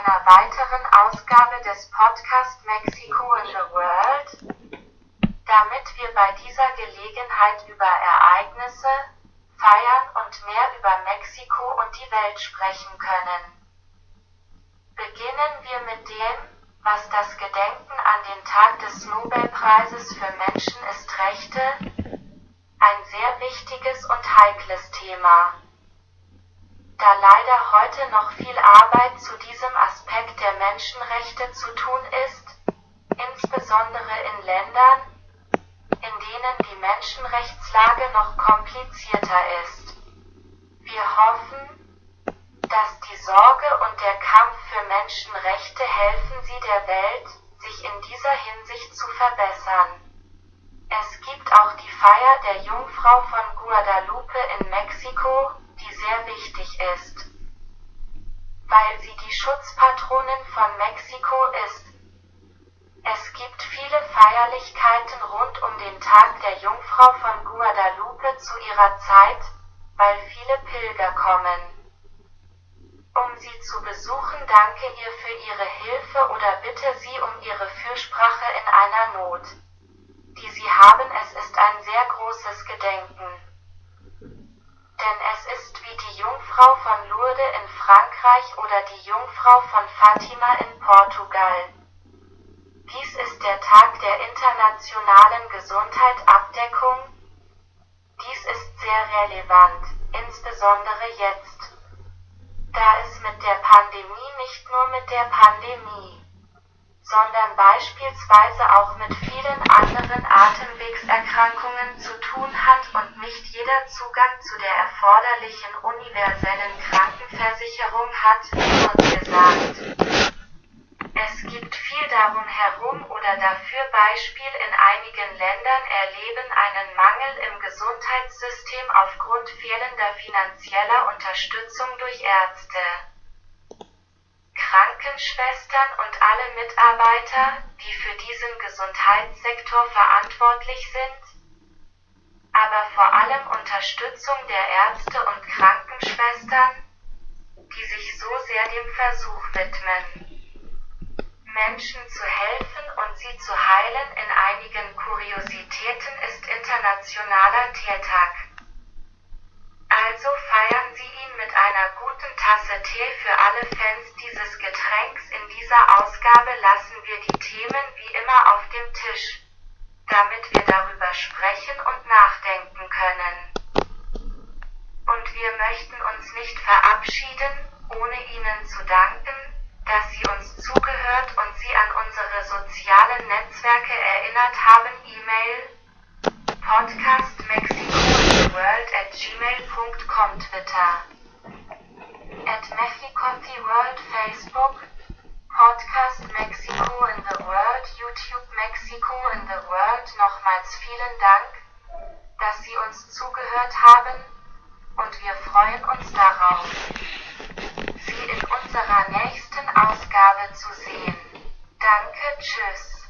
einer weiteren Ausgabe des Podcast Mexico in the World, damit wir bei dieser Gelegenheit über Ereignisse, Feiern und mehr über Mexiko und die Welt sprechen können. Beginnen wir mit dem, was das Gedenken an den Tag des Nobelpreises für Menschen ist Rechte, ein sehr wichtiges und heikles Thema. Da leider heute noch viel Arbeit zu diesem Aspekt der Menschenrechte zu tun ist, insbesondere in Ländern, in denen die Menschenrechtslage noch komplizierter ist. Wir hoffen, dass die Sorge und der Kampf für Menschenrechte helfen sie der Welt, sich in dieser Hinsicht zu verbessern. Es gibt auch die Feier der Jungfrau von Guadalupe in Mexiko, die sehr wichtig ist, weil sie die Schutzpatronin von Mexiko ist. Es gibt viele Feierlichkeiten rund um den Tag der Jungfrau von Guadalupe zu ihrer Zeit, weil viele Pilger kommen, um sie zu besuchen. Danke ihr für ihre Hilfe oder bitte sie um ihre Fürsprache in einer Not, die sie haben. Es ist ein sehr großes Gedenken. Denn es ist wie die Jungfrau von Lourdes in Frankreich oder die Jungfrau von Fatima in Portugal. Dies ist der Tag der internationalen Gesundheitsabdeckung. Dies ist sehr relevant, insbesondere jetzt, da es mit der Pandemie nicht nur mit der Pandemie, sondern beispielsweise auch mit vielen anderen Atemwegserkrankungen zu tun hat und nicht jeder Zugang zu der erforderlichen universellen Krankenversicherung hat, wie uns gesagt. Es gibt viel darum herum oder dafür. Beispiel: in einigen Ländern erleben einen Mangel im Gesundheitssystem aufgrund fehlender finanzieller Unterstützung durch Ärzte, Krankenschwestern und alle Mitarbeiter, die für diesen Gesundheitssektor verantwortlich sind, aber vor allem Unterstützung der Ärzte und Krankenschwestern, die sich so sehr dem Versuch widmen, Menschen zu helfen und sie zu heilen. In einigen Kuriositäten ist Internationaler Teetag. Also feiern Sie ihn mit einer guten Tasse Tee. Für alle Fans dieses Getränks in dieser Ausgabe lassen wir die Themen wie immer auf dem Tisch, damit wir darüber sprechen und nachdenken können. Und wir möchten uns nicht verabschieden, ohne Ihnen zu danken, dass Sie uns zugehört und Sie an unsere sozialen Netzwerke erinnert haben. E-Mail podcastmexicointheworld@gmail.com, Twitter @mexicotheworld, Facebook Podcast Mexico in the World, YouTube Mexico in the World. Nochmals vielen Dank, dass Sie uns zugehört haben, und wir freuen uns darauf, Sie in unserer nächsten Ausgabe zu sehen. Danke, tschüss.